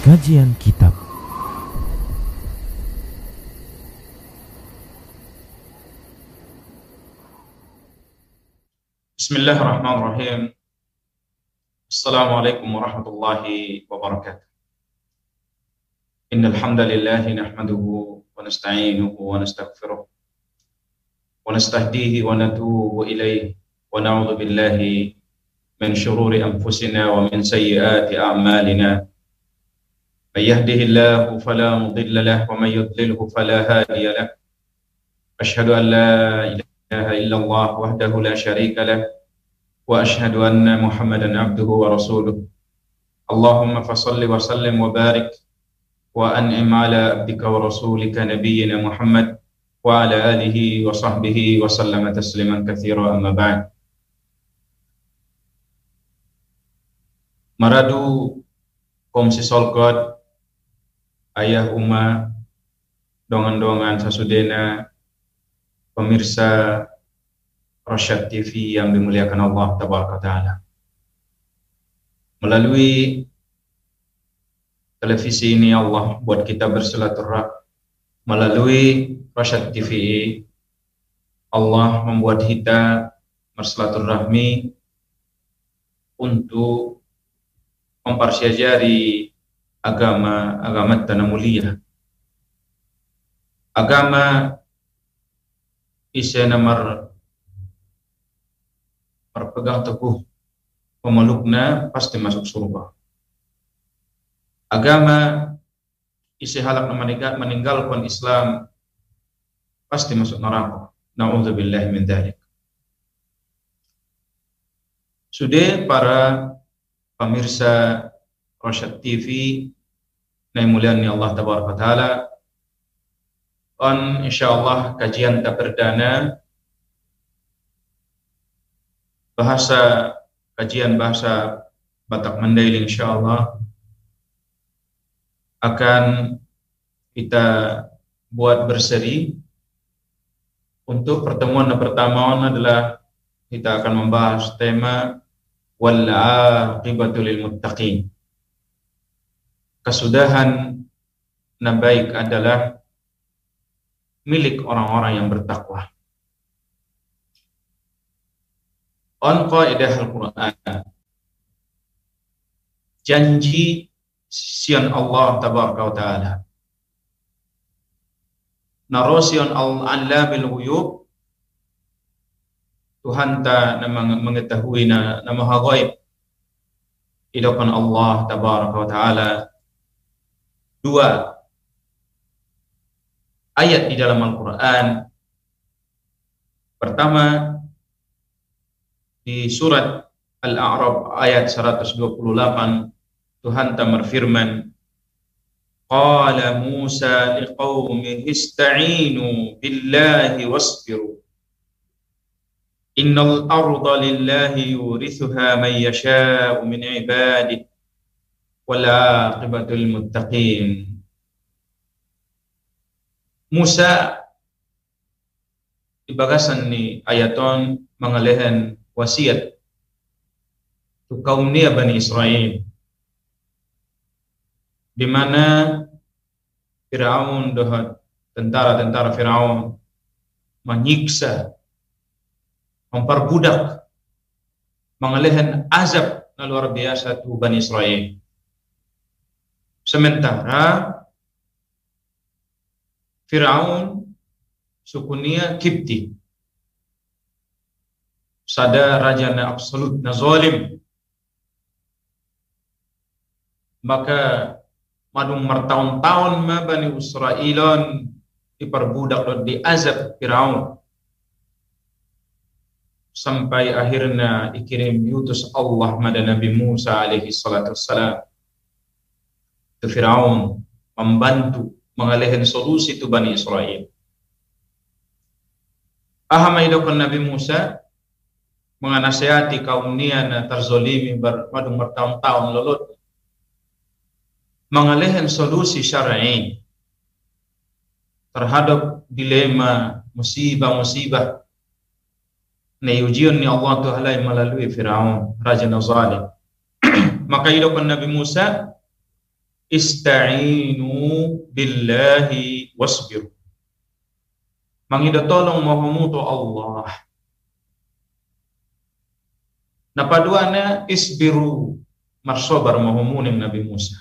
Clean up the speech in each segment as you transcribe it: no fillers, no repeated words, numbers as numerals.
Kajian Kitab. Bismillahirrahmanirrahim. Assalamualaikum warahmatullahi wabarakatuh. Innal hamdalillah nahmaduhu wa nasta'inuhu wa nastaghfiruh wa nastahdihi wa natubu ilayhi wa na'udzu billahi min shururi anfusina wa min sayyiati a'malina. May yahdihillahu fala mudilla lahu wa may yudlilhu fala hadiya lahu. Asyhadu an la ilaha illallah wahdahu la syarika lahu wa asyhadu anna Muhammadan abduhu wa rasuluh. Allahumma fasalli wa sallim wa barik wa an'im ala abdika wa rasulika nabiyyina Muhammad wa ala alihi wa sahbihi wa sallama tasliman katsira, amma ba'd. Maradu komsi solkot ayah umma dongan-dongan sasudena pemirsa Rosyad TV yang dimuliakan Allah Tabaraka Ta'ala. Melalui televisi ini Allah buat kita bersilaturahmi. Melalui Rosyad TV Allah membuat kita bersilaturahmi untuk mempersyajari agama tanah mulia. Agama isi nomor berpegang teguh pemeluknya pasti masuk surga. Agama isi halak meninggalkan Islam pasti masuk neraka. Na'udzubillahi min dzalik. Sudah para pemirsa Rosyad TV yang muliani Allah Tabaraka Ta'ala, on insyaallah kajian tak perdana kajian bahasa Batak Mandailing insyaallah akan kita buat berseri. Untuk pertemuan pertama adalah kita akan membahas tema wal aqibatu lil muttaqin. Kesudahan baik adalah milik orang-orang yang bertakwa. On qaidah Al-Quran, janji sian Allah Tabaraka wa Ta'ala, narosion al-allamil ghuyub, Tuhan ta mengetahui nama ghaib idakan Allah Tabaraka wa Ta'ala. Dua ayat di dalam Al-Quran. Pertama di surat Al-A'raf ayat 128, Tuhan berfirman, qala Musa liqaumihi ista'inu billahi wasbiru innal arda lillahi yurithuha man yasha'u min ibadihi wal aqibatu lil muttaqin. Musa di bagasan ni ayaton mangalehan wasiat tu kaum ni Bani Israel, di mana Firaun dohat tentara-tentara Firaun menyiksa, memperbudak, mangalehan azab na luar biasa tu Bani Israel. Sementara Firaun sukunya Kipti, sada raja na absolut na zalim, maka madung martahun-tahun ma Bani Israilon diperbudak dan diazab Firaun sampai akhirnya dikirim diutus Allah pada Nabi Musa alaihi salatu wassalam. Itu Firaun membantu mengalihkan solusi itu Bani Israel. Ahamaidokon Nabi Musa menganasihati kaum niana terzolimi bermadung bertahun-tahun lelut mengalihkan solusi syar'i terhadap dilema musibah-musibah na ujian ni Allah Ta'ala melalui Firaun raja zalim. Maka idokon Nabi Musa ista'inu billahi wasbiru. Mangida tolong mahamutu Allah. Napaduana isbiru marsobar mahamuning Nabi Musa.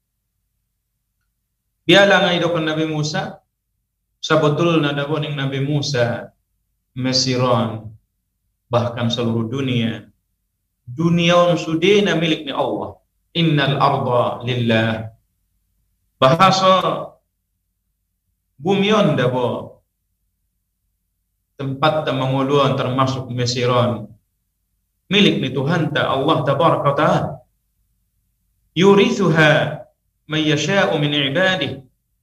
Biala nga idokon Nabi Musa, sabetul na daboning Nabi Musa mesiron bahkan seluruh dunia. Dunia sudah na milik ni Allah. Innal arda lillah. Bahasa bumion dabo tempat manguluan termasuk mesiron milik ni Tuhan ta Allah tabaraka ta'ala. Yurithuha man yasha'u min ibadih.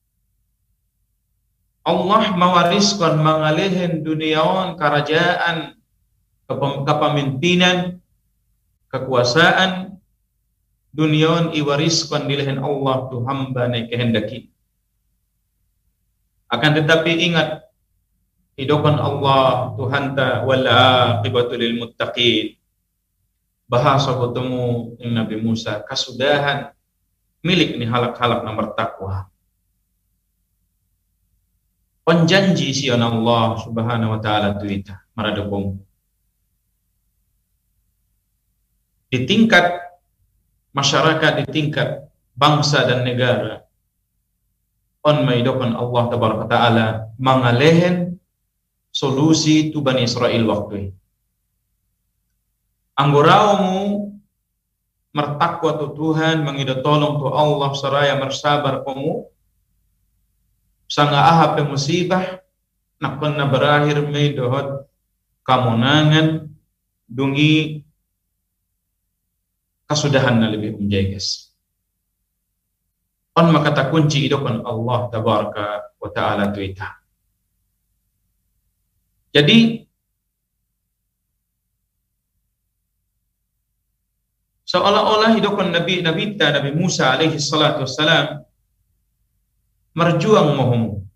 Allah mewariskan mangalihin duniawan kerajaan, kepemimpinan, kekuasaan duniawan iwariskan dilihin Allah tu hamba na kehendaki. Akan tetapi ingat, hidupan Allah Tuhan ta wal aqibatu lil muttaqin. Bahasa bertemu dengan Nabi Musa, kasudahan milik ni halak-halak na bertakwa. Penjanji sian Allah subhanahu wa ta'ala tuita maradukung. Di tingkat masyarakat, di tingkat bangsa dan negara, on maidokan Allah tabaraka ta'ala mangalehen solusi tu Bani Israel waktu. Angguraumu mertakwa tu Tuhan, mangida tolong tu Allah seraya mersabar kamu. Sanga ahap musibah nakon na berakhir may dohot kamunangan dungi kasudahan na lebih umjaygas. On makata kunci idokon Allah tabaraka wa ta'ala tuita. Jadi seolah-olah idokon Nabi Musa alaihi salatu wassalam merjuang mohomu.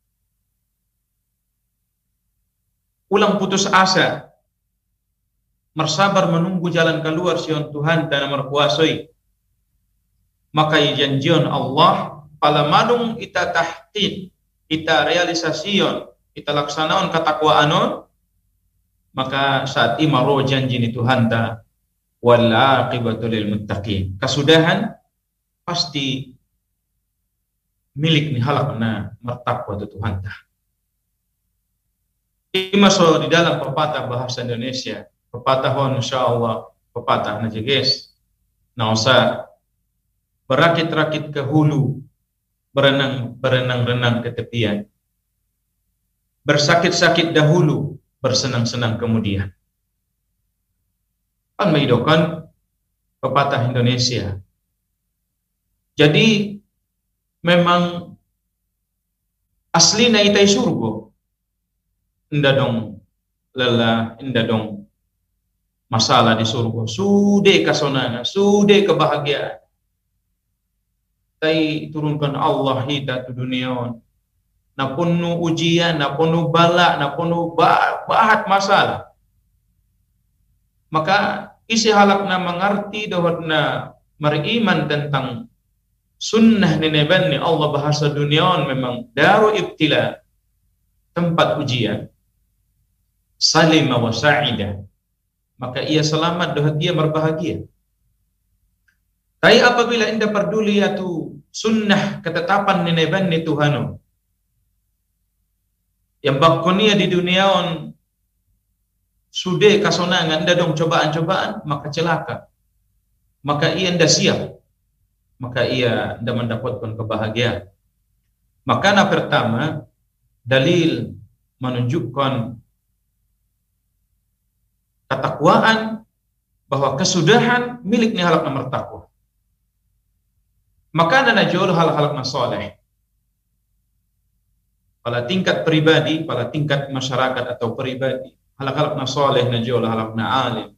Ulang putus asa. Mersabar menunggu jalan keluar sion Tuhan dan merkuasai. Maka janjion Allah pala manung ita tahqiq, ita realisasion, ita laksanaon katakwaanon, maka saat imaro janji ni Tuhan ta wal aqibatu lil muttaqin. Kasudahan pasti milik ni halak na mertakwa tu Tuhan ta. Imaso di dalam pepatah bahasa Indonesia, pepatah hon insyaallah, pepatah na jeges. Na usah berakit-rakit ke hulu, berenang-renang ke tepian. Bersakit-sakit dahulu, bersenang-senang kemudian. Kan maidokan pepatah Indonesia. Jadi memang asli na itai surgo. Inda dong lelah, inda dong masalah di surga. Sude kasonangan, sude kebahagiaan. Tai turunkan Allah hita tu dunia. Na penuh ujian, na penuh bala, na penuh bahat masalah. Maka isi halak na mengerti dohot na beriman tentang sunnah neneban ni Allah bahasa dunia memang daru ibtila, tempat ujian. Salima wa sa'ida, maka ia selamat dohot dia berbahagia. Tapi apabila anda peduli tu sunnah ketetapan neneban ni Tuhanu yang bakonia di dunia on sude kasonangan anda dong cobaan-cobaan, maka celaka. Maka ia anda siap, maka ia anda mendapatkan kebahagiaan. Maka na pertama dalil menunjukkan ketakwaan bahwa kesudahan milik ni halak nomor takwa. Maka ada najul hal-hal na soleh. Pada tingkat pribadi, pada tingkat masyarakat atau pribadi, hal-hal na soleh najul hal na alim.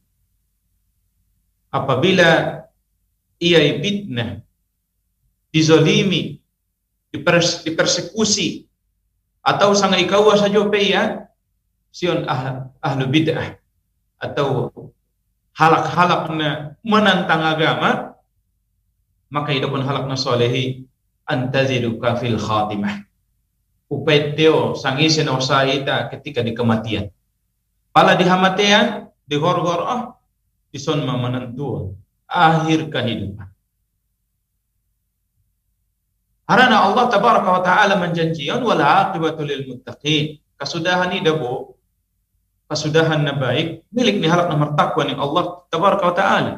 Apabila ia fitnah, dizolimi, dipersekusi, atau sang ikawa saja peya, sion ahlu bid'ah, atau halak-halak na menantang agama, maka idokon halak na solehi antaziduka fil khatimah. Upeteo sangisi na usahita ketika di kematian. Pala di hamatian, di gor-gor ison menentu akhir kehidupan. Harana Allah tabaraka wa ta'ala menjanjikan wal aqibatu lil muttaqin. Kasudahan ni dabo, kasudahan na baik milik ni halak na martakwa ni Allah tabaraka wa ta'ala.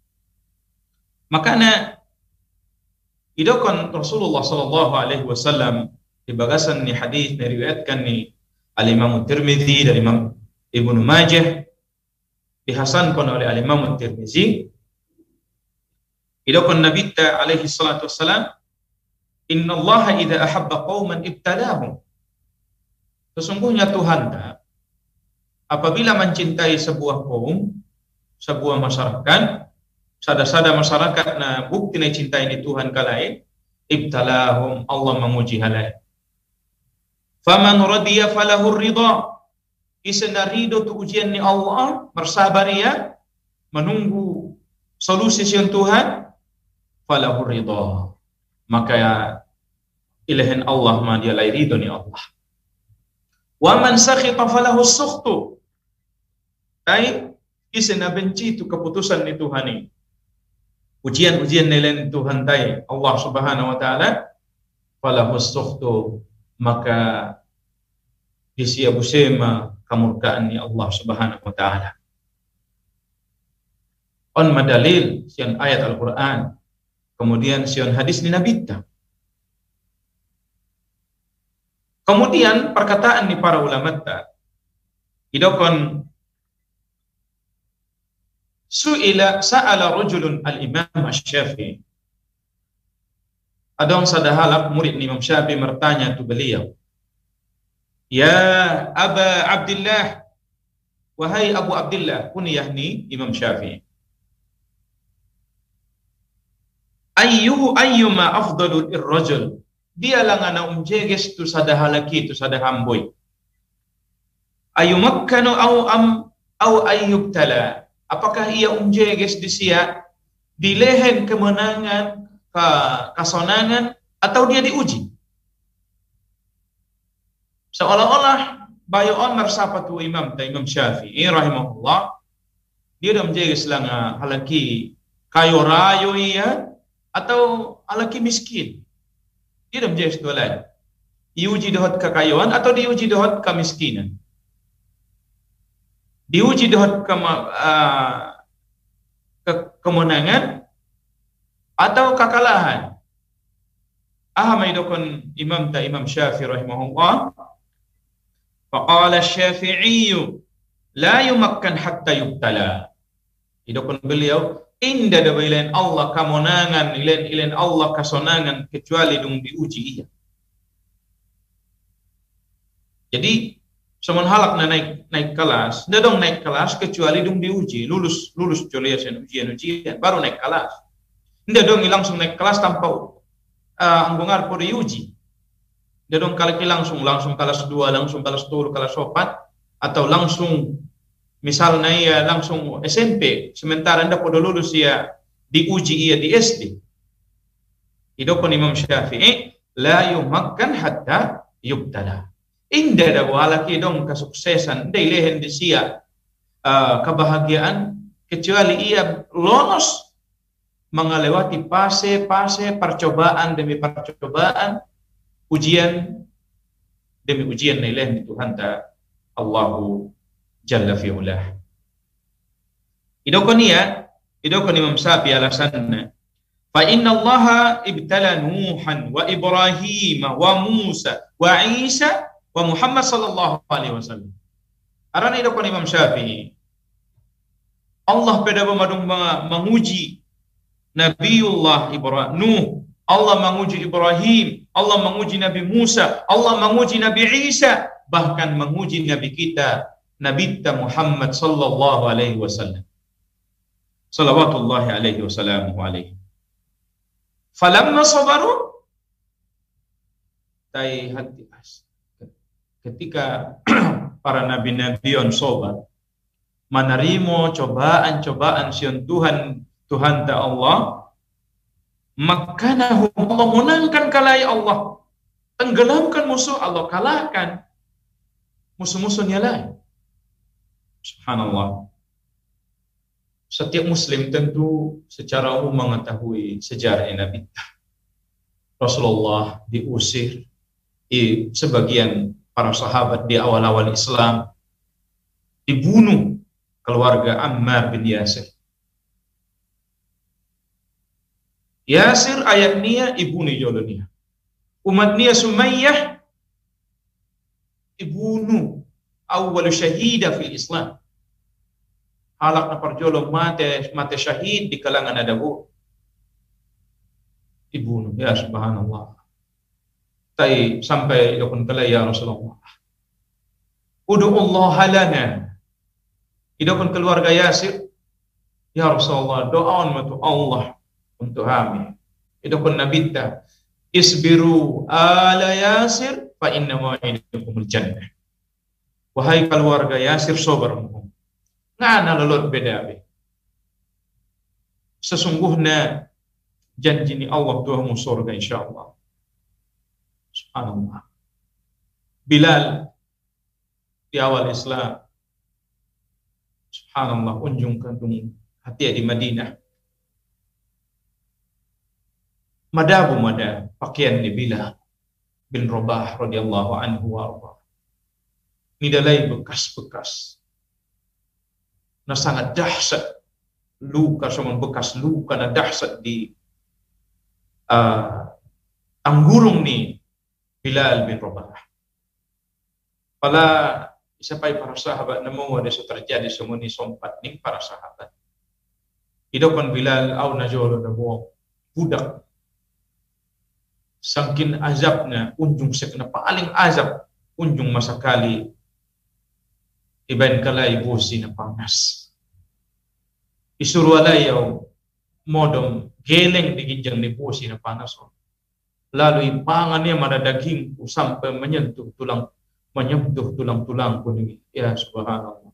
Makanya idokon Rasulullah sallallahu alaihi wasallam di bagasan ni hadis diriwayatkan ni al-Imam Tirmidzi dari Imam Ibnu Majah, dihasankan oleh al-Imam Tirmidzi. Idokon Nabi alaihi salatu wassalam, Inna Allah idza ahabba qauman ibtalahum. Sesungguhnya Tuhan apabila mencintai sebuah kaum, sebuah masyarakat, sada-sada masyarakat na bukti na cintai ni Tuhan kalai, ibtalahum, Allah menguji halai. Faman radiya falahu ridha. Isna ridho tu ujian ni Allah, bersabar ia, menunggu solusi siang Tuhan, falahu ridha. Maka ilahin Allah ma dia lai ridho ni Allah. Wa man sakhita falahu sukhtu. Tai isna benci tu keputusan ni Tuhan ni. Ujian-ujian ni Tuhan tai Allah Subhanahu wa taala, falahu sukhtu, maka disia busema kemurkaan ni Allah Subhanahu wa taala. On madalil sian ayat Al-Qur'an, kemudian sian hadis ni Nabi ta. Kemudian perkataan ni para ulama ta, idokon sa'ala rajulun al-Imam Asy-Syafi'i. Adong sadahalak murid Imam Syafi'i bertanya tu beliau, Ya Aba Abdullah, wahai Abu Abdullah, kunyah ni Imam Syafi'i. Ayyuma afdalu ir-rajul. Dia langana umjeges tu sadahalaki tu sadahamboy. Ayyumakkanu au ayyubtala. Apakah ia umjeges di sia di lehen kemenangan, kasonangan, atau dia diuji? Seolah-olah bayoon mersapa tu Imam Syafi'i rahimahullah, dia dah menjaga selanga halaki kayo rayo ia atau halaki miskin. Dia dah menjaga setualai. Diuji dohot kekayaan atau diuji dohot kemiskinan. Diuji dohot kemenangan atau kekalahan. Ahamidokon Imam Syafi'i rahimahullah. Faqala Syafi'i la yumakkan hatta yubtala. Idokon beliau, inda da ilain Allah kamonangan, ilain Allah kasonangan kecuali dung diuji ia. Jadi semon halak na naik kelas, nda dong naik kelas kecuali dung diuji, lulus joliasan ujian baru naik kelas. Nda dong langsung naik kelas tanpa anggungar po diuji. Dadong kalaki langsung kelas 2, langsung kelas 3, kelas 4, atau langsung misalnya ia langsung SMP, sementara anda pada lulus ia diuji ia di SD. Idokon Imam Syafi'i, la yumakkan hatta yubtala. Indah da walaki dong kesuksesan, indah ilehen di sia kebahagiaan, kecuali ia lolos mengalewati fase percobaan demi percobaan, ujian demi ujian nilai di Tuhan ta Allahu Jalla fi'ulah. Idokon Imam Syafi'i alasanna, fa inna Allaha ibtala Nuhan wa Ibrahim wa Musa wa Isa wa Muhammad sallallahu alaihi wasallam. Arana idokon Imam Syafi'i, Allah pada memadung menguji Nabiullah Ibrahim, Nuh, Allah menguji Ibrahim, Allah menguji Nabi Musa, Allah menguji Nabi Isa, bahkan menguji Nabi kita, Nabi Muhammad sallallahu alaihi wasallam. Salawatullahi alaihi wasallam alaihi. Falamma sabaru, ketika para nabi-nabi on sobat menerima cobaan-cobaan sian Tuhan ta Allah, Makkanahum, Allah menangkan kalai Allah, tenggelamkan musuh, Allah kalahkan musuh-musuhnya lain. Subhanallah. Setiap muslim tentu secara umum mengetahui sejarah Nabi. Rasulullah diusir, sebagian para sahabat di awal-awal Islam dibunuh, keluarga Ammar bin Yasir. Yasir ayat niya ibu ni jolonia. Umat niya Sumayyah dibunuh, awal syahida fil Islam. Halak na parjolo mate syahid di kalangan adabu. Dibunuh, ya subhanallah. Tai sampai dokun kala ya Rasulullah. Udu'ullah lana. Idokun keluarga Yasir, ya Rasulullah, doaun matu Allah untuk kami. Idokun nabita, isbiru ala Yasir fa inna ma'idukumul jannah. Wahai keluarga Yasir, sabar. Ngana lolot beda be. Sesungguhnya janji ni Allah Tuhanmu surga insyaallah. Subhanallah. Bilal di awal Islam, subhanallah, unjung kantung hati di Madinah. Madabu mada pakaian ni Bilal bin Rabah radhiyallahu anhu wa arda. Nidalai bekas-bekas. Na sangat dahsyat luka, sama bekas luka na dahsyat di anggurung ni Bilal bin Rabah. Pala isapai para sahabat namo ada terjadi semua ni sompat ni para sahabat. Hidupkan Bilal au najolo namo budak. Sangkin azabnya unjung sekna paling azab unjung masa kali iban kalai bosi na panas. Isuruh alayaw modom geleng diginjang ni bosi na panas. Lalu ipangannya mana daging sampai menyentuh tulang-tulang kuning. Ya subhanallah.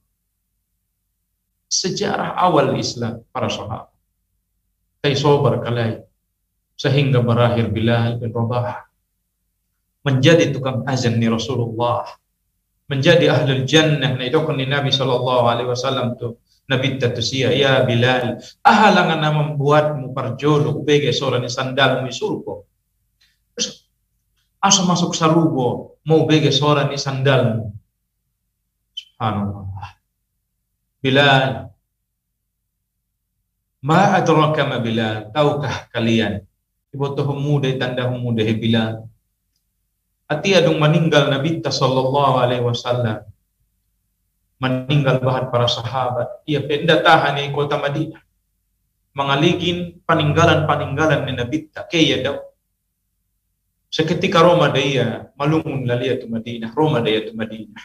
Sejarah awal Islam para sahabat. Tay sobar kalai sehingga berakhir Bilal bin Rabah menjadi tukang azan ni Rasulullah, menjadi ahlul jannah. Na idokon ni Nabi sallallahu alaihi wasallam tu Nabi tatusia, ya Bilal, ahalangan na membuatmu parjolo ubege soran sandal mu surga. Asa masuk sarubo mau bege soran ni sandalmu. Subhanallah. Bilal, ma adraka ma Bilal, tahukah kalian ibotoh muda tanda muda Bilal ati adung meninggal Nabi sallallahu alaihi wasallam, meninggal bahan para sahabat. Ia pindah tahan di kota Madinah, mengaligin peninggalan ni Nabi tak kaya daw. Seketika Roma daya malungun lalia tu Madinah, Roma daya tu Madinah.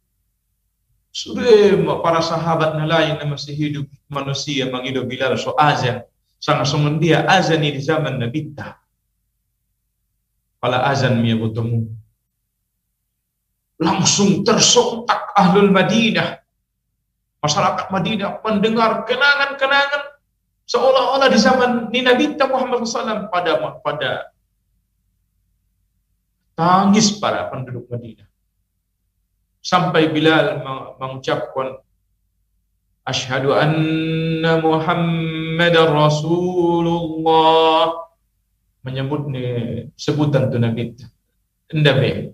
Sudah para sahabat na lain na masih hidup manusia mangido Bilal so azan. Sangat dia azan di zaman Nabi tak. Pala azan miya bertemu. Langsung tersontak ahlul Madinah. Masyarakat Madinah mendengar kenangan-kenangan seolah-olah di zaman Nabi Muhammad SAW pada tangis para penduduk Madinah. Sampai Bilal mengucapkan asyhadu anna Muhammadar Rasulullah, menyebut sebutan tu Nabi. Ndabe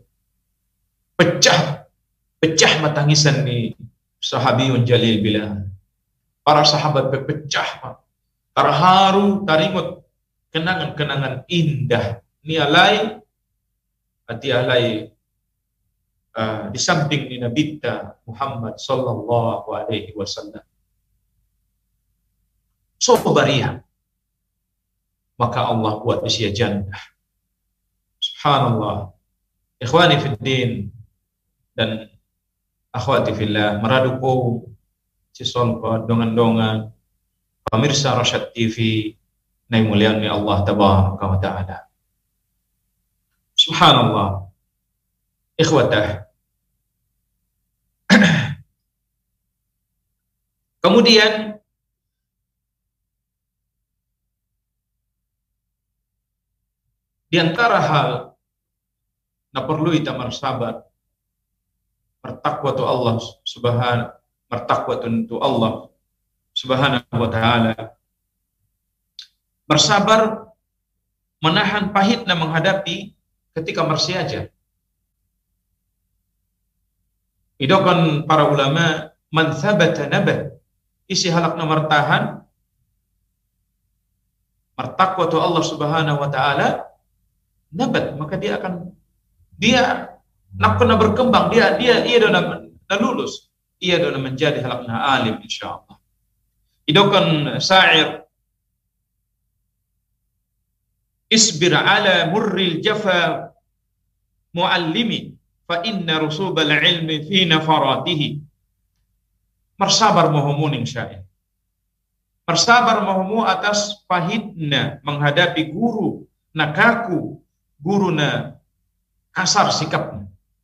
pecah matangisan ni sahabiyun jalil Bilal. Para sahabat berpecah, terharu, tarimut kenangan-kenangan indah ni alai hati alai di samping ni Nabi Muhammad sallallahu alaihi wasallam. So bariah, maka Allah buat usia jannah. Subhanallah. Ikhwani fid din dan akhwati fillah, meraduku sison dongan-dongan pemirsa Rasyad TV na mulian ni Allah tabaraka wa taala. Subhanallah. Ikhwatah. Kemudian Di antara hal na perlu kita bersabar, bertakwa tu Allah subhanahu, bertakwa tu Allah subhanahu wa ta'ala. Bersabar menahan pahitnya menghadapi ketika marsiaja. Idokan para ulama, man thabata nabat, isi halakna martahan bertakwa tu Allah subhanahu wa ta'ala, nabat, maka dia nak kena berkembang, ia dah lulus, ia dah menjadi halakna alim insyaallah. Idokan syair, isbir ala murril jafa muallimi fa inna rusubal ilmi fi nafaratihi. Bersabar mohomuning syair, bersabar mohomu atas pahitna menghadapi guru na kaku, guru na kasar sikapnya.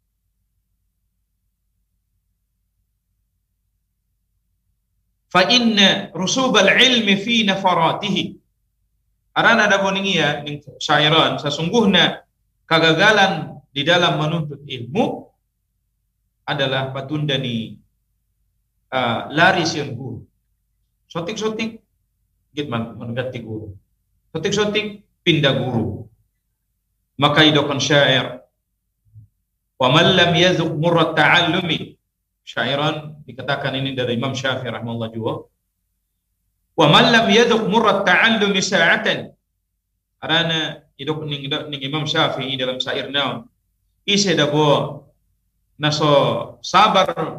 Fa inna rusubal ilmi fi nafaratihi. Arana ada boningia ning syairan, sesungguhnya kegagalan di dalam menuntut ilmu adalah patundani lari siang guru. Sotik-sotik git mengganti guru. Sotik-sotik pindah guru. Maka idokan syair, wa man lam yazuq murrat ta'allumi. Syairan dikatakan ini dari Imam Syafi'i rahimahullah juga. Wa man lam yazuq murrat ta'allumi sa'atan. Arana idok ning Imam Syafi'i dalam syair naon. Ise dabo naso sabar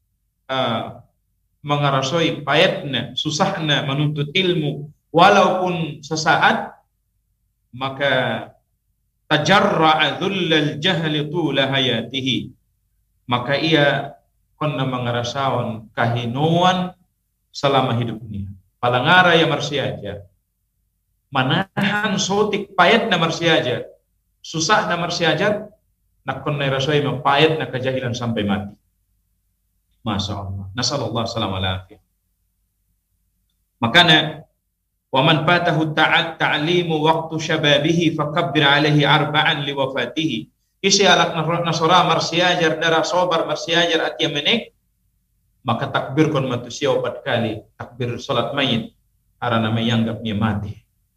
mengarasoi payatna, susahna menuntut ilmu walaupun sesaat, maka tajarra'a dhullal jahli tula hayatihi, maka ia konna mengarasawan kahinuan selama hidupnya. Palangara ya marsiaja, manahan sotik payat na marsiaja, susah na marsiaja, nak konna rasoi mapayat na kejahilan sampai mati. Masya Allah. Nasallallahu salam alaihi. Makanya wa man fatahu ta'limu waqtu syababihi fakabbir alaihi arba'an li wafatihi. Isi alak nasora marsiajar darah sobar marsiajar atia menek, maka takbir kon manusia 4 kali, takbir salat mayit arana mayanggap nya mati.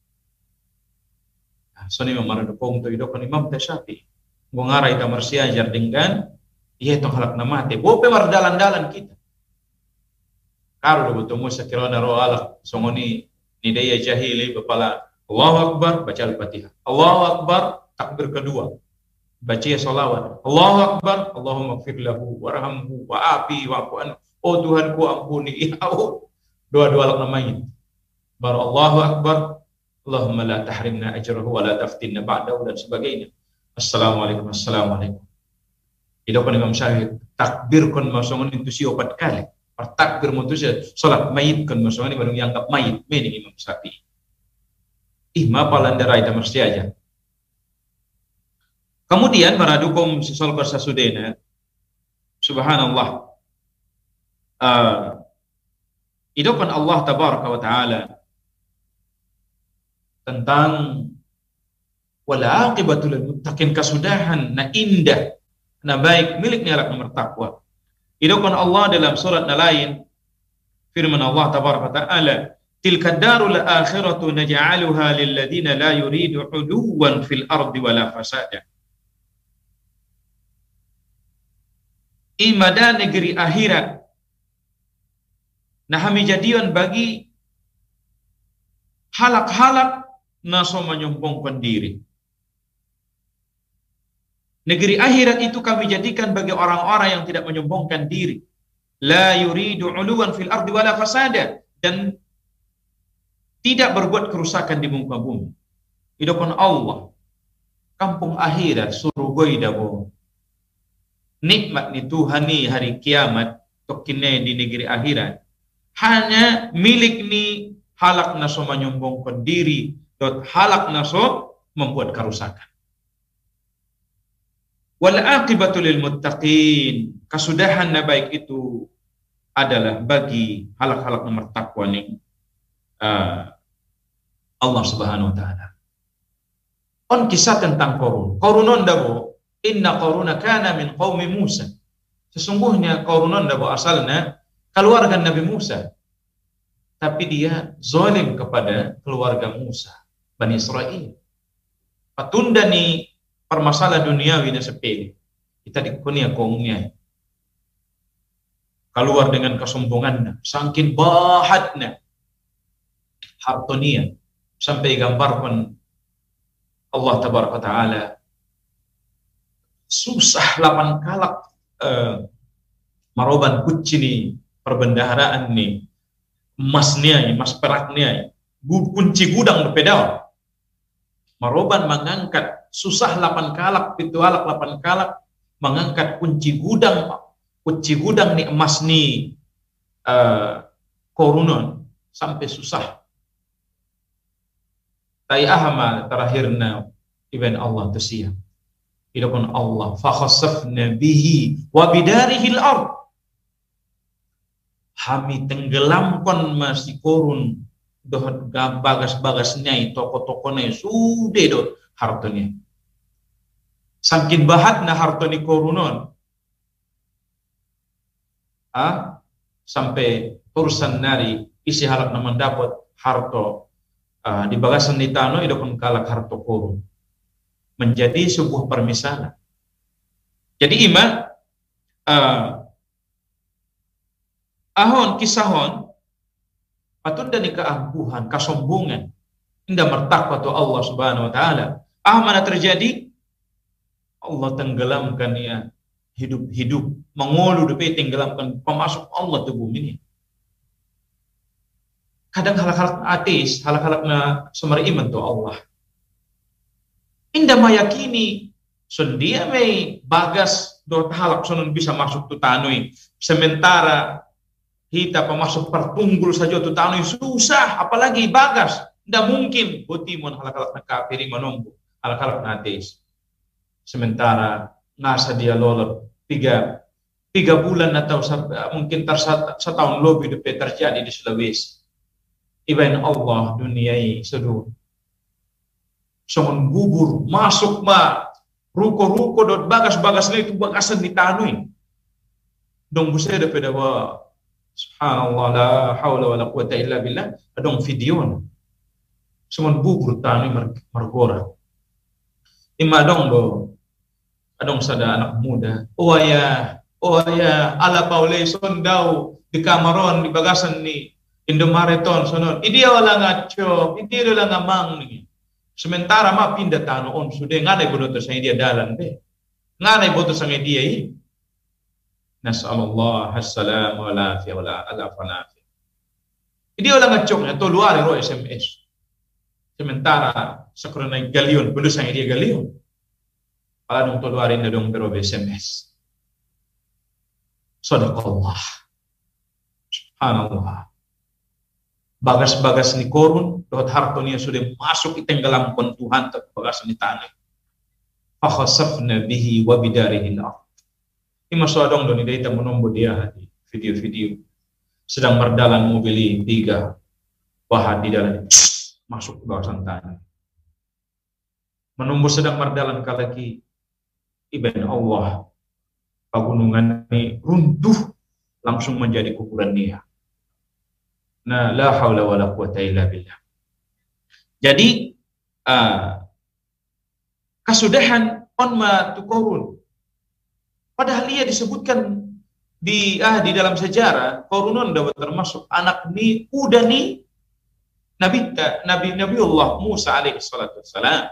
So ni mamarado pong to idokon Imam Syafi'i. Ngara ita marsiajar dengan iya tong halak na mati. Bope mardalan-dalan kita. Karo do botomo sa kirana ro alak songoni ni daya jahili bapala Allahu Akbar baca Al-Fatihah. Allahu Akbar takbir kedua. Baca salawat. Allahu Akbar, Allahumma ighfir lahu warhamhu wa'afi wa'fu anhu. Oh Tuhan ku ampuni. Doa-doa alak namanya. Baru Allahu Akbar, Allahumma la tahrimna ajrahu wa la taftinna ba'dahu dan sebagainya. Assalamualaikum. Idokan Imam Syafi'i takbir kon masongon itu si 4 kali. Takbir mutusya salat mayit kon masongon baru dianggap mayit mening Imam Syafi'i. Ma palandara ita mesti aja. Kemudian para dukung sesal bersasudena, subhanallah, idokan Allah tabaraka wa ta'ala tentang wala aqibatul muttaqin, kasudahan na indah na baik miliknya alak nomor takwa. Idokan Allah dalam surat na lain, firman Allah tabaraka wa ta'ala, tilka darul akhiratu naj'aluha lil ladina la yuridu 'uluwan fil ardi wala fasada. Imada negeri akhirat nah kami jadian bagi halak-halak naso menyombongkan diri. Negeri akhirat itu kami jadikan bagi orang-orang yang tidak menyombongkan diri. La yuridu 'uluwan fil ardi wala fasada, dan tidak berbuat kerusakan di muka bumi. Idokon Allah kampung akhirat surugoi dabo. Nikmat ni Tuhan ni hari kiamat tokine di negeri akhirat hanya milik ni halak naso menyombongkan diri, dot halak naso membuat kerusakan. Wal aqibatu lil muttaqin, kasudahan na baik itu adalah bagi halak-halak nomor takwa ni Allah Subhanahu wa taala. On kisah tentang Korun. Korunon dabo, inna Koruna kana min qaumi Musa. Sesungguhnya Korunon dabo asalnya keluarga Nabi Musa. Tapi dia zalim kepada keluarga Musa, Bani Israel. Patunda ni permasalahan duniawi na sepele. Kita dikunia kaumnya. Keluar dengan kesombongannya, sangkin bahatnya, hartonia, sampai gambarkan Allah tabaraka ta'ala susah lapan kalak maroban kucini perbendaharaan ni emasnya, emas peraknya, kunci gudang berpedal maroban mengangkat susah lapan kalak pitualak lapan kalak mengangkat kunci gudang ni emas ni korunon sampai susah. Tai ahma terakhirna ibn Allah tersiap. Idapun Allah fa khassafna bihi wa bidarihi al-ard. Kami tenggelamkan masih korun doh bagas-bagasnya toko-tokonya sudah do hartanya. Saking bahatna hartani korunon. Sampai urusan nari isi halak naman dapat harto di bagasan di tanah itu pun kalak harto korun menjadi sebuah permisalan. Jadi ahon kisahon patut dan keangkuhan kesombongan indah mertakwa tu Allah subhanahu wa ta'ala mana terjadi Allah tenggelamkan ya hidup-hidup mengolu depe tenggelamkan pemasuk Allah tu bumi ini. Kadang halak-halak ateis, halak-halak na sumber iman tu Allah. Indah mayakini sundia may bagas do halak sunun bisa masuk tu tanui. Sementara kita pemasuk pertunggul saja tu tanui susah, apalagi bagas. Tidak mungkin botimon halak-halak na kafiri menunggu, halak-halak na ateis. Sementara ngasa dia lolot tiga bulan atau mungkin setahun lebih terjadi di Sulawesi. Ibain Allah duniai sedu songon bubur masuk ruko-ruko dot bagas-bagas itu bagasan ditanui dong busa da peda wa subhanallah la haula wala quwata illa billah adong video songon bubur tanui margora ima dong do adong sada anak muda oh ya ala paule sondau di kamaron di bagasan ni Indomariton sonon idia wala ngaco idia wala ngamang ni sementara ma pindah tano on sudah nganai bodoh sang dia dalan be nganai bodoh sang dia i nasallallahu assalam wala fi wala ala fanafi idia wala ngaco to luar ro SMS sementara sakrona galion bodoh sang dia galion ala dong to luar inda dong bero SMS sadaqallah subhanallah. Bagas-bagas ni korun, dohot hartonya sudah masuk itenggelamkan Tuhan ke bagas ni tanah. Fakhasafna bihi wa bidarihi al-ard. Ini masuk adong doni kita menombo dia di video-video sedang berdalan mobil 3 bahan di dalam masuk ke bagasan tanah. Menombo sedang berdalan kalaki ibn Allah pagunungan ini runtuh langsung menjadi kuburan dia. Nah, la haula wala quwata illa billah. Jadi kasudahan onma tukorun. Padahal ia disebutkan di dalam sejarah korunun dapat termasuk anak ni udah ni Nabiullah Musa alaihi salatu wassalam.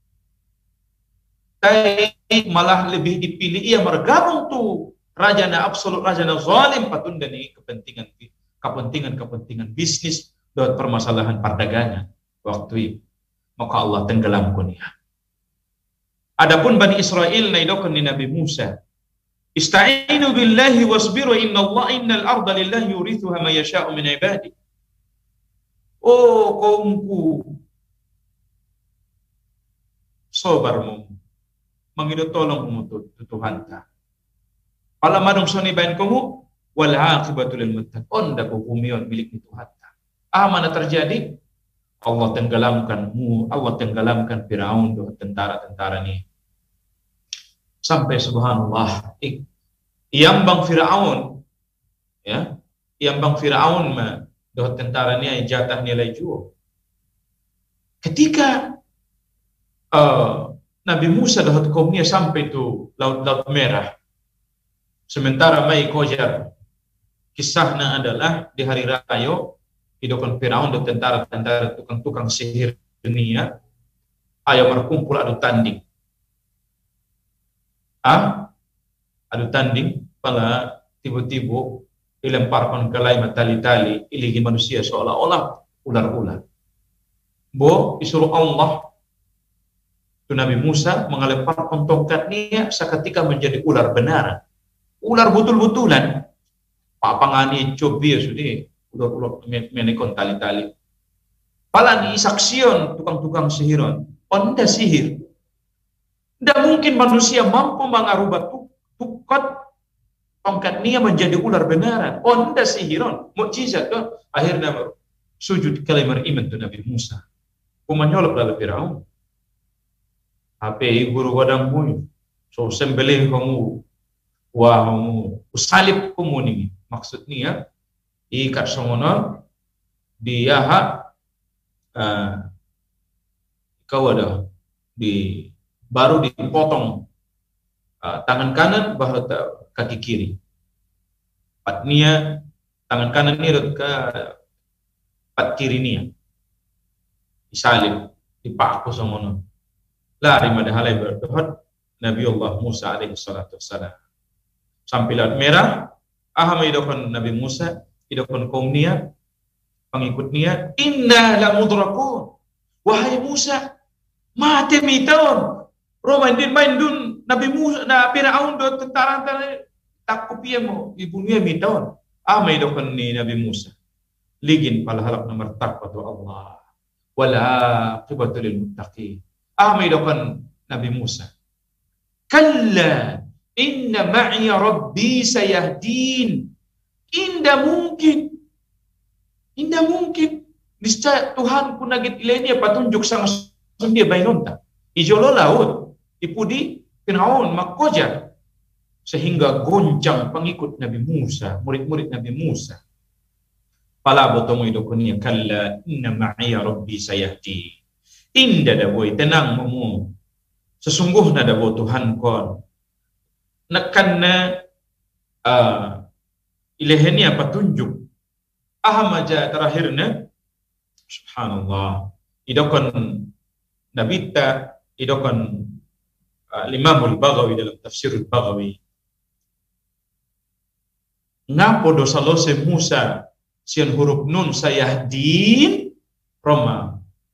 Tapi malah lebih dipilih ia bergabung tu rajana absolut rajana zalim patunda ni kepentingan bisnis dan permasalahan perdagangan waktu itu maka Allah tenggelamkan dia. Adapun Bani Israel naidokan ni Nabi Musa ista'inu billahi wasbiru innal arda lillahi yurithuha man yasha'u min ibadi. Oh kaumku sabarmu mangido tolong Tuhan ta pala madong soni bain kamu wal aqibatu lil muttaqin. Onda ko bumion milik ni Tuhan. Mana terjadi? Allah tenggelamkanmu, Allah tenggelamkan Firaun dengan tentara-tentara ni. Sampai subhanallah, iambang Firaun, ya, iambang Firaun dengan tentara ni ay jatah nilai jual. Ketika Nabi Musa dengan kaumnya sampai tu laut merah, sementara mai kojar, kisahnya adalah di hari raya hidupkan Firaun dan tentara-tentara tukang-tukang sihir dunia ayam berkumpul adu tanding. Adu tanding pala tiba-tiba dilemparkan ke lain tali-tali iligi manusia seolah-olah ular-ular. Bo disuruh Allah tu Nabi Musa mengelemparkan tongkatnya seketika menjadi ular benar. Ular betul-betulan. Papangani cobi sudah ular-ular menekon tali-tali. Pala ni saksion tukang-tukang sihiron. Onda sihir. Tidak mungkin manusia mampu mengarubah tukat tongkat nia menjadi ular benaran. Onda sihiron. Mukjizat tu. Akhirnya sujud kalimar iman tu Nabi Musa. Kumanyolok lalu Firaun. Ape guru wadang mu. So sembelih kamu. Wah kamu. Usalib kamu ni. Maksudnya ikat songono dia kau ada baru dipotong tangan kanan baru kaki kiri. Patnia tangan kanan ni ke pat kiri ni disalib dipaku songono. Lari madahalai berdoa Nabi Allah Musa alaihi salatu wassalam. Sampai laut merah aham idokon Nabi Musa, idokon kaumnya, pengikutnya, inna la mudrakun. Wahai Musa, mati miton. Romandin maindun Nabi Musa, na Firaun do tentara takut dia mau ibunya miton. Aham idokon ni Nabi Musa. Ligin pala halak nomor takwa tu Allah. Wala qibatul muttaqin. Aham idokon Nabi Musa. Kalla inna ma'iya rabbi sayahdin. Indah mungkin. Niscaya Tuhan pun nagit ilainya patunjuk sang dia bainonta. Ijolo laut. Ipudi Firaun makojar. Sehingga goncang pengikut Nabi Musa. Murid-murid Nabi Musa. Pala botomo idokonia. Kalla inna ma'iya rabbi sayahdin. Indah dah boy. Tenang mamu. Sesungguhnya dah boy Tuhan kon. Nekanna ilahnya petunjuk. Aham aja terakhirnya subhanallah idokon nabita idokon Imamul Baghawi dalam tafsirul Baghawi ngapo dosa lose Musa sian huruf nun sayahdin Roma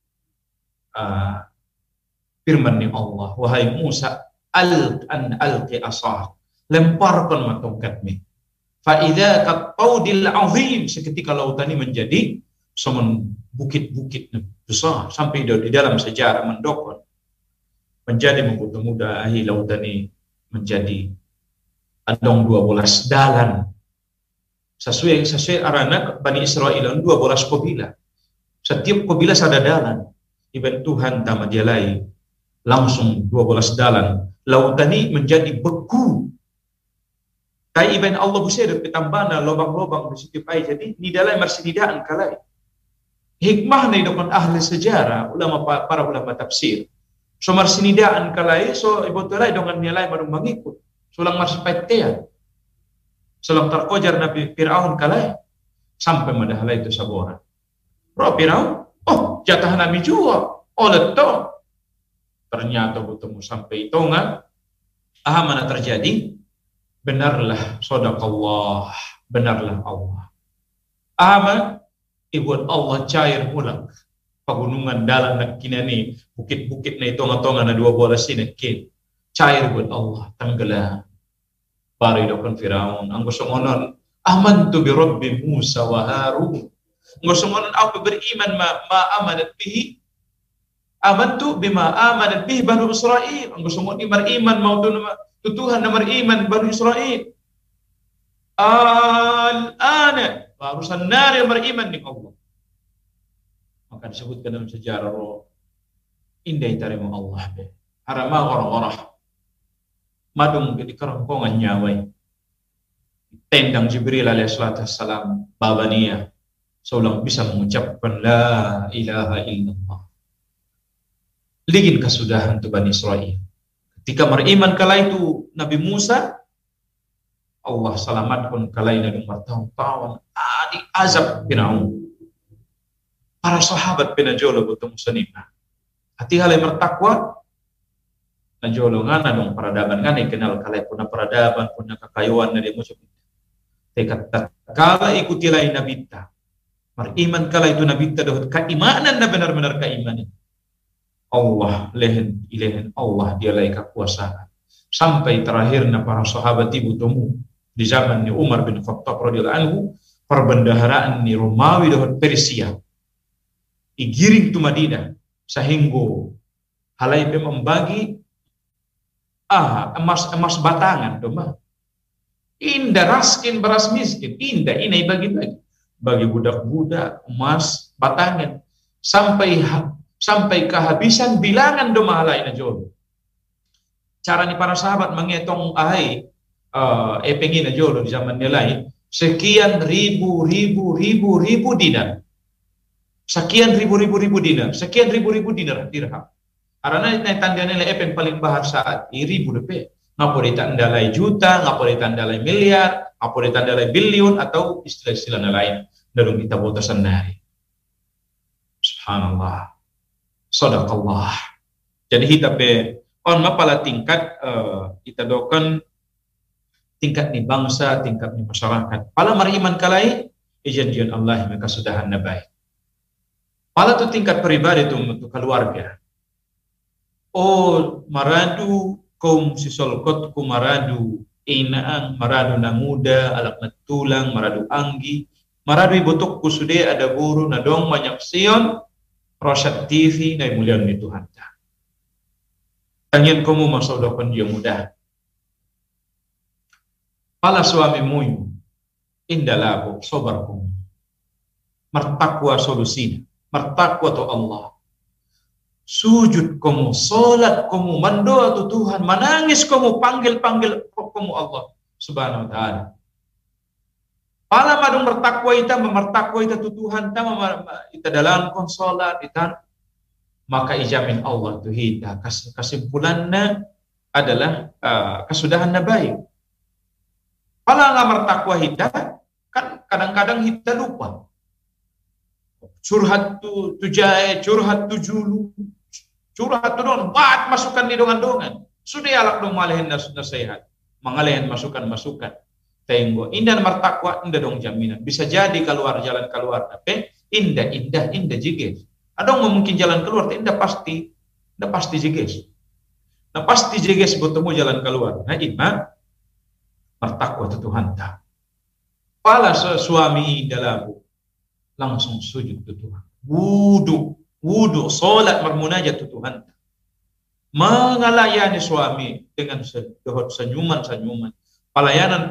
firman ni Allah wahai Musa alqi asah lemparkan matongkatmu fa idza qaudil azim seketika lautan ini menjadi semen bukit-bukit besar sampai di dalam sejarah mendokon menjadi muda lautan ini menjadi adong 12 dalan sesuai arana Bani Israel 12 kabilah setiap kabilah ada dalan iban Tuhan tama dia lain langsung 12 dalan lautan ini menjadi beku. Kai iban Allah busir petambana lobang-lobang di setiap air. Jadi ni dalam marsinidaan kalai. Hikmah ni dokon ahli sejarah, para ulama tafsir. So marsinidaan kalai, so ibu tulai dengan nilai baru mengikut. Sulang marsipaitean. Sulang terkojar Nabi Firaun kalai. Sampai madahalai itu sabora. Roh Firaun, oh jatah Nabi jua. Oh leto. Ternyata bertemu sampai itongan. Mana terjadi? Benarlah sadaqallah, benarlah Allah. Ibuat Allah cair ulang. Pegunungan dalam nak kinani, bukit-bukit na itonga-tonga na 12 sinakin. Cair buat Allah, tenggelam. Baru idokon Firaun, ang gusto ngonon, amantu bi Rabbi Musa wa Harun. Ang gusto ngonon ako beriman ma amanat bihi. Amantu bima amanat bihi Banu Israel. Ang gusto ngonon beriman mau Tuhan nomor iman Bani Israel. Al-ana barusan nari beriman dengan Allah. Maka disebutkan dalam sejarah indah tarima Allah be. Harama orang-orang madung di kerongkongan nyawai. Tendang Jibril alaihissalam babania seolah bisa mengucapkan la ilaha illallah. Ligin kesudahan tu Bani Israel. Ketika beriman kala itu Nabi Musa, Allah selamatkan kala ini bertahun-tahun di azab Firaun. Para sahabat penajolo bertemu senima. Hati halai bertakwa, najolo ngana dong peradaban ngana kenal kala puna peradaban puna kakayuan dari musuh. Tekat kala ikuti lain Nabi ta. Beriman kala itu Nabi ta dohut keimanan na benar-benar keimanan. Allah lehen Allah dia lai kekuasaan. Sampai terakhirnya para sahabat ibu temu di zaman ni Umar bin Khattab radhiyallahu anhu perbendaharaan ni Romawi dohut Persia. Igiring tu Madinah sehingga halai pe membagi emas batangan tu mah. Indah raskin beras miskin, indah ini bagi budak-budak emas batangan sampai kehabisan bilangan doma lain najol. Cara ni para sahabat menghitung pengin najol di zaman nilai sekian ribu dinar. Sekian ribu dinar, sekian ribu dinar dirham. Karena ini tanda nilai yang paling bahar saat ribu depe. Ngapa ditandalai juta, ngapa ditandalai miliar, ngapa ditandalai bilion atau istilah-istilah lain dalam kita buat sendiri. Subhanallah. Sadaqallah. Jadi kita on mapala tingkat kita dokan tingkat ni bangsa, tingkat ni masyarakat. Pala mariman kalai ijanjian Allah maka sudahan nabai. Pala tu tingkat pribadi tu untuk keluarga. Oh maradu kaum sisolkot ku maradu inaang maradu nanguda alak natulang maradu anggi maradu ibutuk ku sude ada guru nadong banyak sion Rosyad TV na mulian ni Tuhan ta. Tangyan kamu masaudakan dia mudah. Pala suami muyu indalabo sobar kamu. Mertakwa solusinya, mertakwa tu Allah. Sujud kamu, salat kamu, mendoa tu Tuhan, menangis kamu, panggil kamu Allah Subhanahu wa taala. Pala madung bertakwa ita tu Tuhan ita dalam konsolat ita maka ijamin Allah tu hita kesimpulannya adalah kesudahan baik. Pala nggak bertakwa hita kan kadang-kadang hita lupa. Curhat tu jahe, curhat tu julu. Curhat tu don, buat masukan di dongan-dongan. Sudah alak dong malehin nasihat, mengalehin masukan-masukan. Tenggo, indah martakwa, indah dong jaminan. Bisa jadi jalan keluar, tapi indah jiges. Ada mungkin jalan keluar, indah pasti jiges. Nah pasti jiges bertemu jalan keluar. Nah ima martakwa tu Tuhan ta. Pala suami dalam langsung sujud tu Tuhan. Wudu, salat bermunajat tu Tuhan. Mengalayani suami dengan senyuman. Pelayanan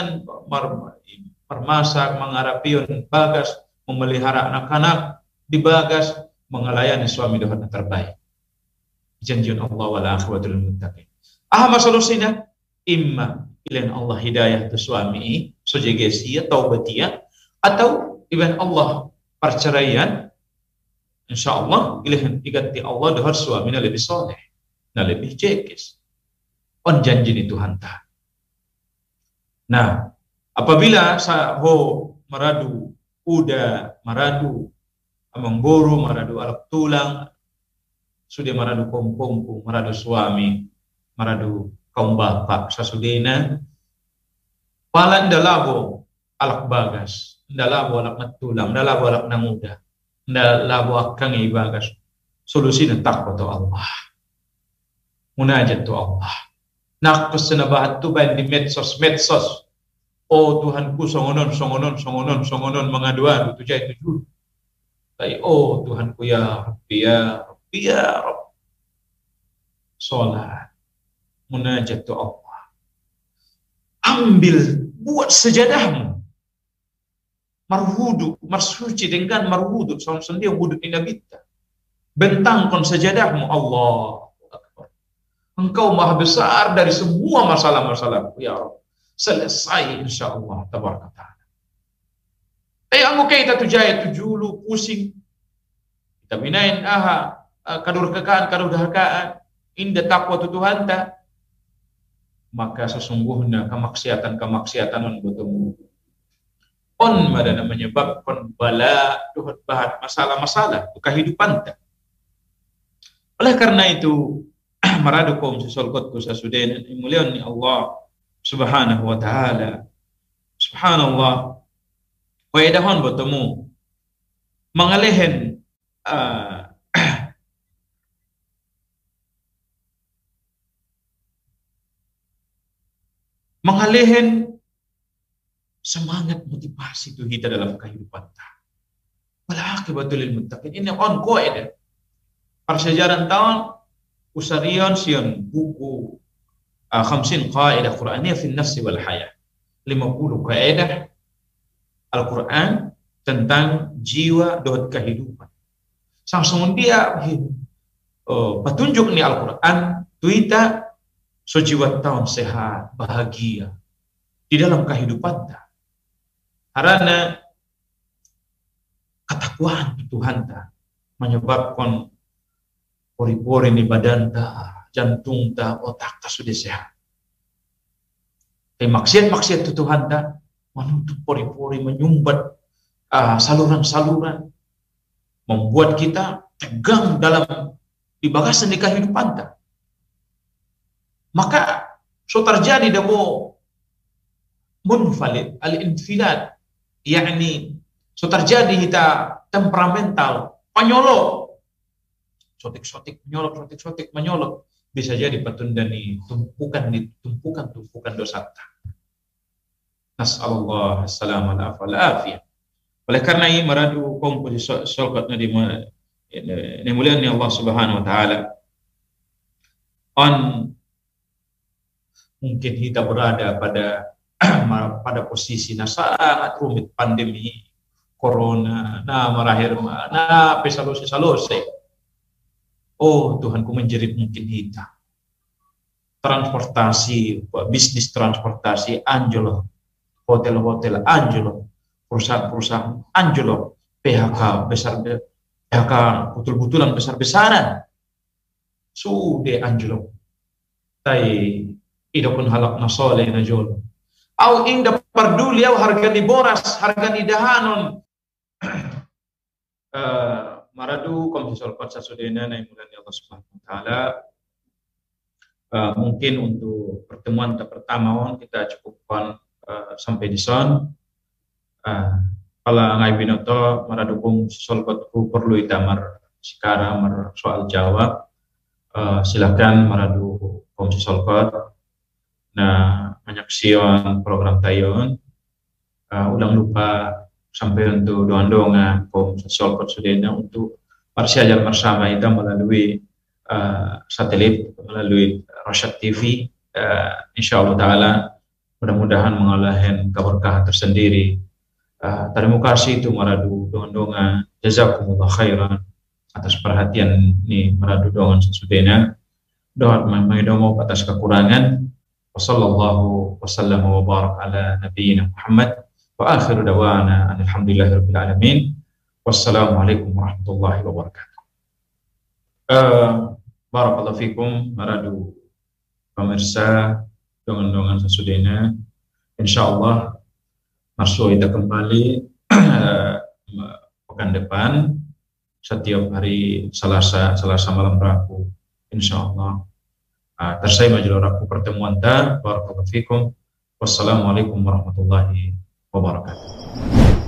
permasak, mengarapion bagas, memelihara anak-anak di bagas, mengalayani suami dengan terbaik. Janjian Allah wal akhwatul muttaqin. Solusinya imma ilain Allah hidayah tu suami sojegesia taubatia atau iban Allah perceraian. InsyaAllah ilahin diganti Allah dengan suaminya lebih soleh dan lebih jekes. On janji ni Tuhan ta. Nah, apabila maradu uda, maradu amanggoro, maradu alak tulang, sudah maradu kompu, maradu suami, maradu kaum bapak sasudena, palan dalabo alak bagas, dalabo alak natulang, dalabo alak nanguda. Labo akang ibagas solusi na takwa to Allah munajat to Allah nakos na bahat to ba di medsos oh Tuhanku songonon mga dua tu jay tujuh tay oh Tuhanku ya Rabbi salat munajat to Allah ambil buat sejadahmu marhudu, marsuci dengan marhudu, son dia wudu ina bitta. Bentangkan sajadahmu, Allah Akbar. Engkau maha besar dari semua masalah-masalahku, ya Rabb. Selesai insyaallah tabaraka ta'ala. Anggo kita tujaya tujulu pusing. Kita binain kadurkakaan, kadurhakaan, indah takwa Tuhan ta. Maka sesungguhnya kemaksiatan bertemu. Mana menyebabkan bala, duhat bahat, masalah-masalah kehidupan ta. Oleh karena itu, maradu kaum sesolkotku sasudain mulian ni Allah Subhanahu wa ta'ala. Subhanallah. Waedahon bertemu mengalehen mengalehen semangat motivasi itu kita dalam kehidupan ta. Wal aqibatul lil muttaqin. Ini on qaida. Persejarah tahun usarion sion buku 50 qaidah Qur'aniyah fi an-nafs wal hayah. 50 kaidah Al-Quran tentang jiwa dan kehidupan. Langsung dia petunjuk ni Al-Quran tuita so jiwa tahun sehat, bahagia di dalam kehidupan ta. Karena ketakwaan Tuhan ta menyebabkan pori-pori di badan ta, jantung ta, otak ta sudah sehat. Tapi maksiat-maksiat Tuhan ta menutup pori-pori, menyumbat saluran-saluran, membuat kita tegang dalam di bagasan di kehidupan ta. Maka so terjadi demo munfalid al-infilad, yakni so terjadi kita temperamental, penyolok, sotik-sotik menyolok, bisa jadi petundani tumpukan dosa ta. Nas'alullah as-salamah wal afiyah. Oleh karena ini maradu kaum solkatna di mulian Allah Subhanahu wa taala. Mungkin kita berada pada posisi sangat rumit, pandemi corona, marahir pesalose. Oh Tuhanku, menjerit mungkin kita. Transportasi, bisnis transportasi anjlok. Hotel-hotel anjlok, perusahaan-perusahaan anjlok, PHK betul-betulan besar-besaran, sudah anjlok. Tai ida pun halak nasole na jol. Au inda perduli au harga di boras, harga di dahanon. Maradu komisol patsa sudena na imulan Allah Subhanahu wa taala. Mungkin untuk pertemuan pertama kita cukupkan sampai di son. Pala ngai binoto maradukung solkotku perlu itamar sekarang soal jawab. Silakan maradu kom solkot menyaksikan program tayon. Ulang lupa sampai untuk doang-doang kom solkot sudena untuk persiajar bersama kita melalui satelit, melalui Rosyad TV. Insyaallah taala mudah-mudahan mengalahkan keberkahan tersendiri. Terima kasih itu maradu dongan-dongan. Jazakumullah khairan atas perhatian ini maradu dongan sesudena. Doa mengidomo atas kekurangan. Wassallallahu wasallam wa barak ala nabiyyina Muhammad wa akhiru dawana alhamdulillahirabbil alamin. Wassalamualaikum warahmatullahi wabarakatuh. Barakallahu fikum maradu pemirsa dongan-dongan sesudena. Insyaallah masuk kita kembali pekan depan setiap hari Selasa malam Rabu insyaallah. Tersai majelis Rabu pertemuan ta. Barakallahu fikum. Wassalamualaikum warahmatullahi wabarakatuh.